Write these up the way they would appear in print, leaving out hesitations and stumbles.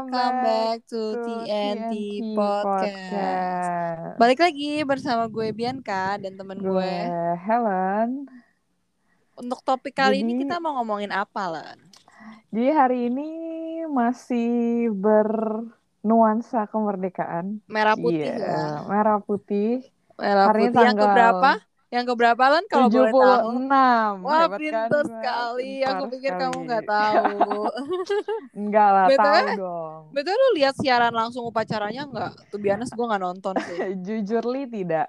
Welcome back to to TNT TNT Podcast. Podcast. Balik lagi bersama gue Bianca dan temen Gue gue. Helen. Untuk topik kali ini Jadi kita mau ngomongin apa, Lan? hari ini masih bernuansa kemerdekaan. Merah putih Iya, ya. merah putih. Merah Hari ini putih yang keberapa? tanggal Yang keberapa, Lan, kalau boleh tahu? 76. Wah, Hebat kan pinter gue? sekali. Pintar Aku pikir kamu nggak sekali. tahu. Enggak lah, tahu BTW, dong. BTW lu lihat siaran langsung upacaranya nggak? To be honest, gue nggak nonton sih. Jujur li tidak.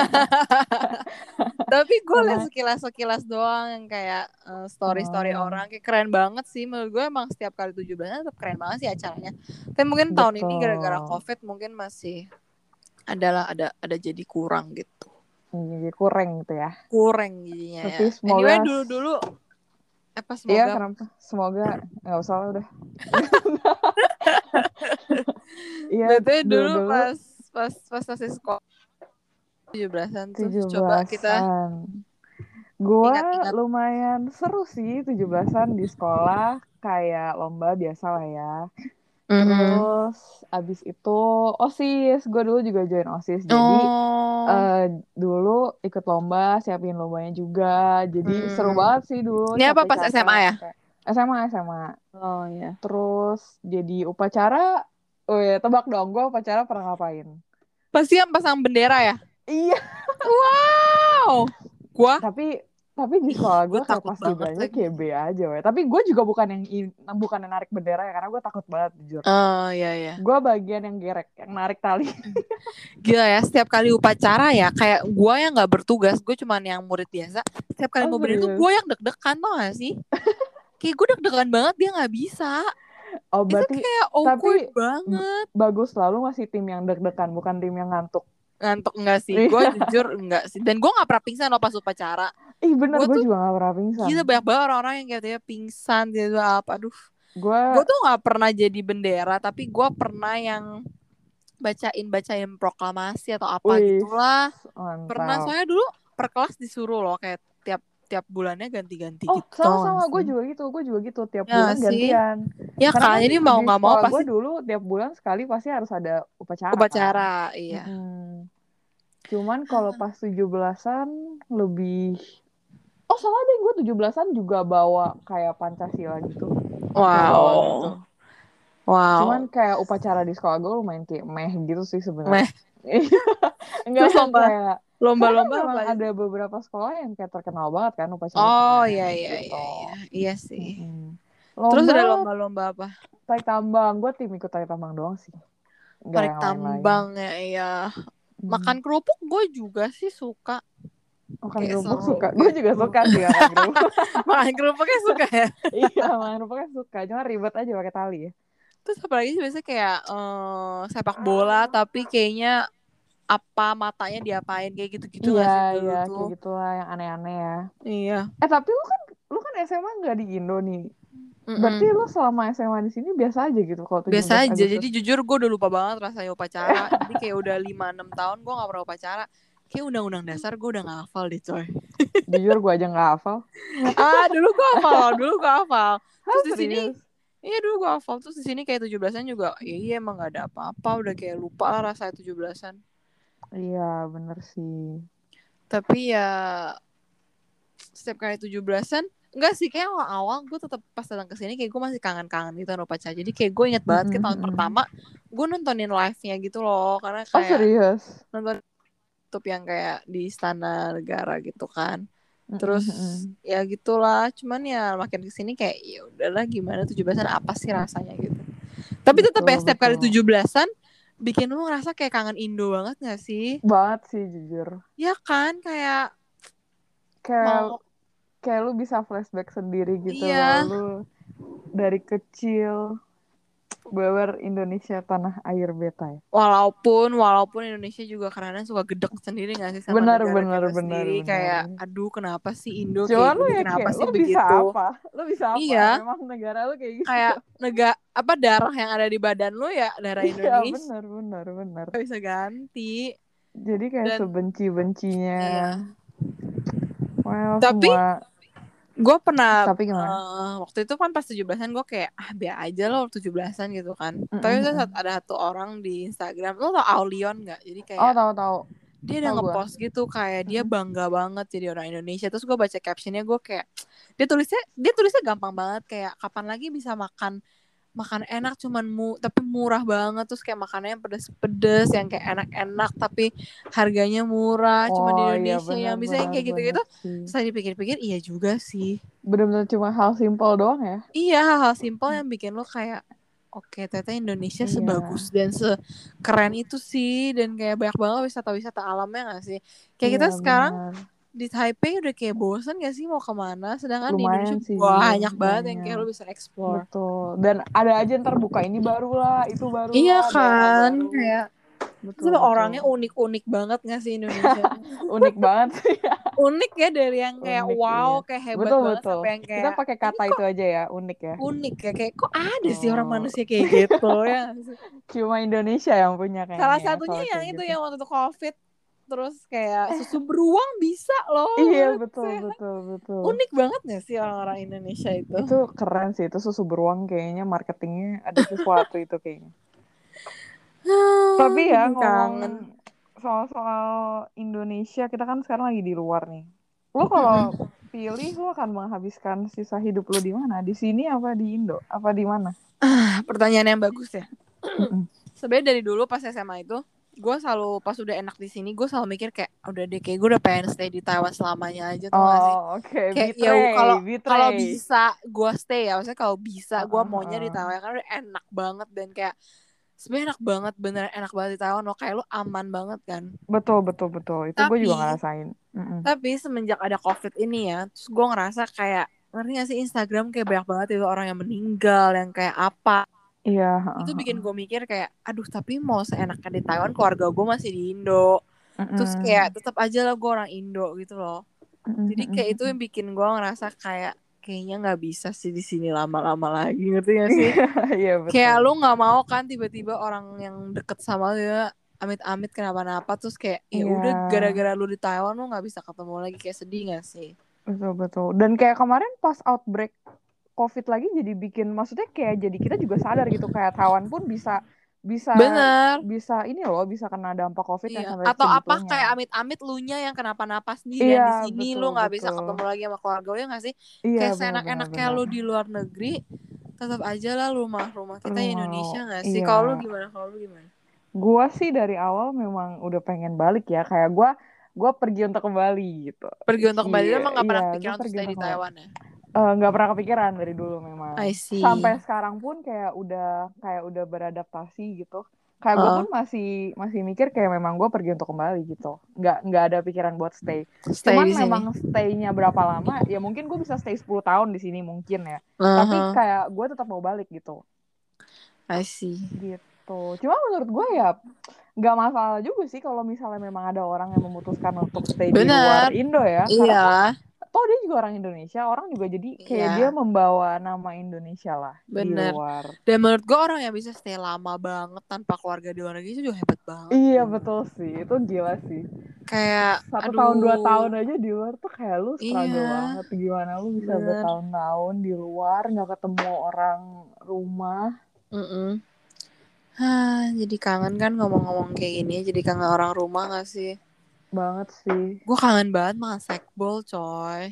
Tapi gue liat Karena sekilas doang yang kayak story-story orang kayak keren banget sih. Menurut gue emang setiap kali 17-an tetap keren banget sih acaranya. Tapi mungkin tahun ini gara-gara betul. COVID mungkin masih ada jadi kurang gitu. Jadi kurang gitu ya. Kurang jadinya Tapi ya. semoga Anyway dulu apa iya, semoga kenapa? Semoga nggak usah lah udah. Iya, BTW dulu dulu pas masih sekolah 17-an tuh coba kita 17-an. Gua ingat-ingat. lumayan seru sih 17-an di sekolah, kayak lomba biasa lah ya. Mhm. Terus abis itu OSIS, gue dulu juga join OSIS. Jadi Oh. dulu ikut lomba, siapin lombanya juga. Jadi seru banget sih dulu, Ini apa pas SMA ya? capek-capek. SMA. Oh ya. Terus jadi upacara, oh ya tebak dong, gue upacara pernah ngapain? Pasti yang pasang bendera ya? Iya, Wow. tapi di sekolah Gue gue kayak takut pas banget gibralnya lagi. kayak B aja, weh. Tapi gue juga bukan yang narik bendera ya, karena gue takut banget jujur. Oh iya. Gue bagian yang gerek, yang narik tali. Gila ya, setiap kali upacara ya, kayak gue yang gak bertugas, gue cuman yang murid biasa. Setiap kali Oh mau berdiri tuh gue serius? yang deg-degan, tau gak sih? Kayak gue deg-degan banget, dia gak bisa. Oh Itu berarti, kayak tapi awkward banget. bagus, selalu masih tim yang deg-degan, bukan tim yang ngantuk. Ngantuk enggak sih, gue jujur enggak sih. Dan gue gak pernah pingsan loh pas upacara. Ih bener, Gue gue tuh juga gak pernah pingsan. gila banyak banget orang-orang yang kayak pingsan gitu apa. Aduh, gue Gue tuh gak pernah jadi bendera, tapi gue pernah yang bacain proklamasi atau apa wih, gitulah. Pernah, mantap. soalnya dulu per kelas disuruh loh kayak tiap bulannya ganti-ganti Oh, gitu, tau gak sama-sama, gue sih? juga gitu, tiap Ya bulan sih, gantian. ya Karena kan, kan jadi mau di nggak mau sekolah gue pasti dulu tiap bulan sekali pasti harus ada upacara kan. upacara, iya. Mm-mm. Cuman kalau pas 17-an lebih... Oh, salah deh, gue 17-an juga bawa kayak Pancasila gitu. Pakai boa gitu. Wow, Cuman wow, kayak upacara di sekolah gue lumayan kayak meh gitu sih sebenarnya. meh. Enggak Terus yang kayak... Karena kan lomba-lomba memang apa aja ada tuh? beberapa sekolah yang kayak terkenal banget kan upacaranya Oh keren iya, gitu. iya sih. Mm-mm. Terus Lomba ada lomba-lomba apa? tarik tambang, gue tim ikut tarik tambang doang sih, nggak Tarik yang lain-lain. tambang ya, iya. Makan kerupuk gue juga sih suka, Makan kayak kerupuk seru suka, gue juga gitu. suka sih makan kerupuk. Makan kerupuknya suka ya. Iya, makan kerupuknya suka, cuma ribet aja pakai tali ya. Terus apalagi sih biasanya kayak sepak bola tapi kayaknya apa matanya diapain kayak gitu-gitu Iya, nggak sih iya dulu tuh? kayak gitulah yang aneh-aneh ya. Iya. Tapi lu kan SMA nggak di Indo nih, berarti Mm-mm. lu selama SMA di sini biasa aja gitu kalau Biasa 17 aja. Agustus Jadi jujur gue udah lupa banget rasanya upacara. Jadi kayak udah 5-6 tahun gue gak pernah upacara. Kayak undang-undang dasar gue udah gak hafal deh coy. Jujur gue aja nggak hafal. Dulu gue hafal. Dulu gue hafal. Hah, Terus di sini, serius? iya dulu gue hafal. Terus di sini kayak 17-an juga. Iya emang gak ada apa-apa. Udah kayak lupa lah rasanya 17-an. Iya bener sih. Tapi ya setiap kali 17-an enggak sih, kayak awal-awal gue tetap pas datang ke sini kayak gue masih kangen-kangen gitu sama upacara. Jadi kayak gue inget banget kayak tahun pertama gue nontonin live-nya gitu loh, karena Oh kayak serius? nonton YouTube yang kayak di Istana Negara gitu kan. Terus Mm-mm. ya gitulah, cuman ya makin kesini kayak ya udahlah, gimana 17-an apa sih rasanya gitu. Tapi tetap ya Betul setiap kali betul 17-an bikin lu ngerasa kayak kangen Indo banget gak sih? banget sih jujur. Ya kan, kayak Kayak mau kayak lu bisa flashback sendiri gitu loh, iya. lu dari kecil, bener Indonesia tanah air beta ya. Walaupun Indonesia juga kadang suka gedek sendiri gak sih sama Benar negara benar kita benar sendiri. benar. Kayak aduh kenapa sih Indo Cuman kayak lu gini, ya kenapa kayak sih begitu. lu bisa apa? Iya, Memang negara lu kayak gitu. kayak apa darah yang ada di badan lu ya darah Iya Indonesia, benar benar benar. gak bisa ganti. Jadi kayak Dan sebenci-bencinya. iya, Well tapi semua. Gue pernah Tapi gimana? waktu itu kan pas 17-an gue kayak biar aja lo 17-an gitu kan. Tapi itu ada satu orang di Instagram, lo tau Aulion nggak? Jadi kayak Tahu. dia udah Tahu gue. ngepost gitu kayak dia bangga banget jadi orang Indonesia. Terus gue baca captionnya gue kayak dia tulisnya gampang banget kayak kapan lagi bisa makan enak cuman tapi murah banget, terus kayak makanannya pedes-pedes yang kayak enak-enak tapi harganya murah cuma di Oh iya Indonesia yang bisa yang benar kayak gitu-gitu. sih. Saya dipikir-pikir iya juga sih. Benar-benar cuma hal simpel doang ya. Iya, hal-hal simpel yang bikin lo kayak oke, ternyata Indonesia Iya. sebagus dan sekeren itu sih, dan kayak banyak banget wisata-wisata alamnya gak sih? Kayak Iya kita sekarang benar. di Taipei udah kayak bosen gak sih mau kemana? Sedangkan di Indonesia Lumayan sih Zul, banyak banget yang kayak banyak. lo bisa explore. Betul. Dan ada aja ntar buka ini baru lah, itu baru Iya lah, daerah kan, baru. kayak Betul, sebenarnya betul. orangnya unik-unik banget gak sih Indonesia? Unik banget sih. Unik ya, dari yang kayak Unik iya. wow, kayak hebat Betul, banget betul. sampai yang Kita kayak pakai ini kata itu kok aja ya, unik ya. unik ya, kayak kok ada sih orang Betul. manusia kayak gitu ya nggak sih? Cuma Indonesia yang punya Salah kayaknya ya, satunya kalau yang kayak itu gitu. yang waktu itu COVID, terus kayak susu beruang bisa loh Iya, buat betul, sehat. betul, betul. Unik banget gak sih orang-orang Indonesia itu? Itu keren sih, itu susu beruang kayaknya marketingnya ada sesuatu itu kayaknya. Tapi ya Jadi ngomong kangen. soal Indonesia, kita kan sekarang lagi di luar nih. Lo kalau pilih, lo akan menghabiskan sisa hidup lo di mana? Di sini apa di Indo? Apa di mana? Pertanyaan yang bagus ya. Mm-mm. Sebenarnya dari dulu pas SMA itu, gue selalu pas udah enak di sini, gue selalu mikir kayak udah deh, kayak gue udah pengen stay di Taiwan selamanya aja, tuh gak sih? Oh, oke. Kayak ya kalau kalau Betray. bisa gue stay ya, maksudnya kalau bisa gue Heeh, maunya di heeh. Taiwan karena udah enak banget, dan kayak sebenarnya enak banget, beneran enak banget di Taiwan loh, kayak lu aman banget kan. Betul, betul, betul. Itu gue juga Tapi ngerasain. Mm-mm. semenjak ada COVID ini ya, terus gue ngerasa kayak, ngerti gak sih, Instagram kayak banyak banget itu orang yang meninggal, yang kayak apa. Iya, heeh, Itu bikin heeh. gue mikir kayak, aduh tapi mau seenaknya di Taiwan, keluarga gue masih di Indo. Terus Mm-mm. kayak tetap aja lah gue orang Indo gitu loh. Mm-mm, Jadi kayak itu mm-mm. yang bikin gue ngerasa kayak kayaknya nggak bisa sih di sini lama-lama lagi, ngerti gak sih? Iya, iya Kayak betul. lu nggak mau kan tiba-tiba orang yang deket sama lu ya amit-amit kenapa-napa, terus kayak ya Iya, udah gara-gara lu di Taiwan lu nggak bisa ketemu lagi, kayak sedih gak sih? betul, betul. Dan kayak kemarin pas outbreak COVID lagi jadi bikin, maksudnya kayak jadi kita juga sadar gitu, kayak Taiwan pun bisa bisa Bener. bisa ini loh, bisa kena dampak COVID yang Iya. sampai Atau apa segitunya. kayak amit-amit lu nya yang kenapa-napa sendirian Iya, di sini, betul, lu nggak bisa betul. ketemu lagi sama keluarga lu, ya nggak sih? Iya, Kayak benar-benar seenak-enaknya benar. lu di luar negeri, tetap aja lah rumah-rumah kita Lu mau, Indonesia nggak sih? iya. Kalau lu gimana? Kalau lu gimana? Gua sih dari awal memang udah pengen balik ya, kayak gua pergi untuk kembali gitu. Pergi untuk kembali, lu emang nggak Iya, pernah gue kepikiran untuk pergi stay untuk di kembali. Taiwan ya? Nggak pernah kepikiran dari dulu memang. I Sampai see. sekarang pun kayak udah beradaptasi gitu. Kayak gue Heeh. pun masih masih mikir kayak memang gue pergi untuk kembali gitu. Nggak ada pikiran buat stay. Stay Cuman di sini. memang stay-nya berapa lama? Ya mungkin gue bisa stay 10 tahun di sini mungkin ya. Tapi Uh-huh. kayak gue tetap mau balik gitu. I see. Gitu. Cuma menurut gue ya nggak masalah juga sih kalau misalnya memang ada orang yang memutuskan untuk stay di luar Bener. Indo ya. Karena kan Iya. toh dia juga orang Indonesia, orang juga jadi kayak dia Iya. membawa nama Indonesia lah di Bener. luar. Dan menurut gue orang yang bisa stay lama banget tanpa keluarga di luar negeri itu juga hebat banget. Iya betul sih, itu gila sih. Kayak, 1 tahun 2 tahun aduh. aja di luar tuh kayak lu struggle Iya. banget. Gimana lu bisa Bener. bertahun-tahun di luar nggak ketemu orang rumah? Mm-mm. Jadi kangen kan ngomong-ngomong kayak gini. Jadi kangen orang rumah gak sih? Banget sih. Gue kangen banget makan sekbol, coy.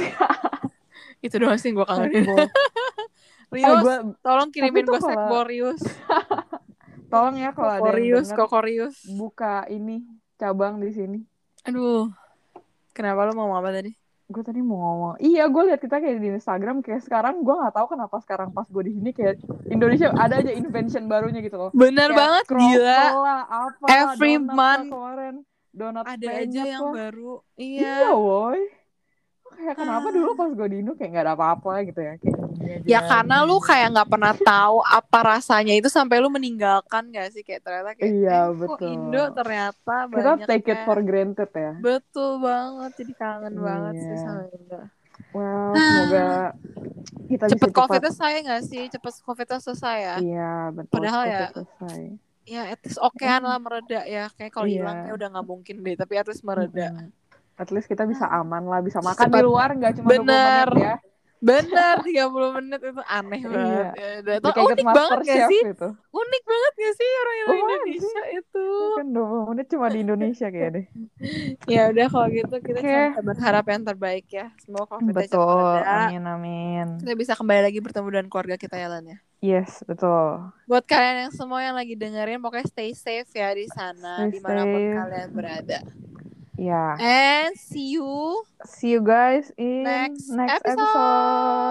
Itu doang sih gue kangenin. Sekbol. Rius, Gue tolong tapi kirimin tuh gue kalau sekbol, Rius. tolong ya kalau ada yang Kokorius, denger kokorius. buka ini cabang di sini. Aduh, kenapa lo mau apa tadi? Gue tadi mau ngomong, iya gue lihat kita kayak di Instagram kayak sekarang gue nggak tahu kenapa sekarang pas gue di sini kayak Indonesia ada aja invention barunya gitu loh, Bener kayak banget, gila. croffle lah, apalah, Every donat lah month kemarin, donat ada aja penyet yang lah, baru. iya Iya. woi, kayak kenapa dulu Hah. pas gue di Indo kayak nggak ada apa-apa gitu ya, kayak gini Ya aja, karena gini lu aja. kayak nggak pernah tahu apa rasanya itu sampai lu meninggalkan gak sih? Kayak ternyata kayak, Iya kok betul, Indo ternyata kita take it banyaknya. for granted ya. Betul banget, jadi kangen banget sih Iya, sama Indo. well semoga kita bisa Cepet cepat, COVID-nya selesai gak sih? Cepet COVID-nya selesai ya? iya betul, Padahal ya, COVID selesai. ya at least okean lah mereda ya. Kayak kalau hilang kayak Iya. udah nggak mungkin deh, tapi at least mereda. At least kita bisa aman lah, bisa makan di luar nggak cuma 20 Bener. menit ya. Bener, 30 menit itu aneh banget. Iya. Itu unik banget gak sih? Itu. Unik banget gak sih orang Indonesia sih. Itu? Kan 20 menit cuma di Indonesia kayak deh. Ya udah kalau gitu kita cuma bisa berharap yang terbaik ya. Semoga COVID-nya cepat reda. Amin. Kita bisa kembali lagi bertemu dengan keluarga kita ya Lan ya. Yes, betul. Buat kalian yang semua yang lagi dengerin, pokoknya stay safe ya di sana, dimanapun kalian berada. Yeah. And see you guys in next episode.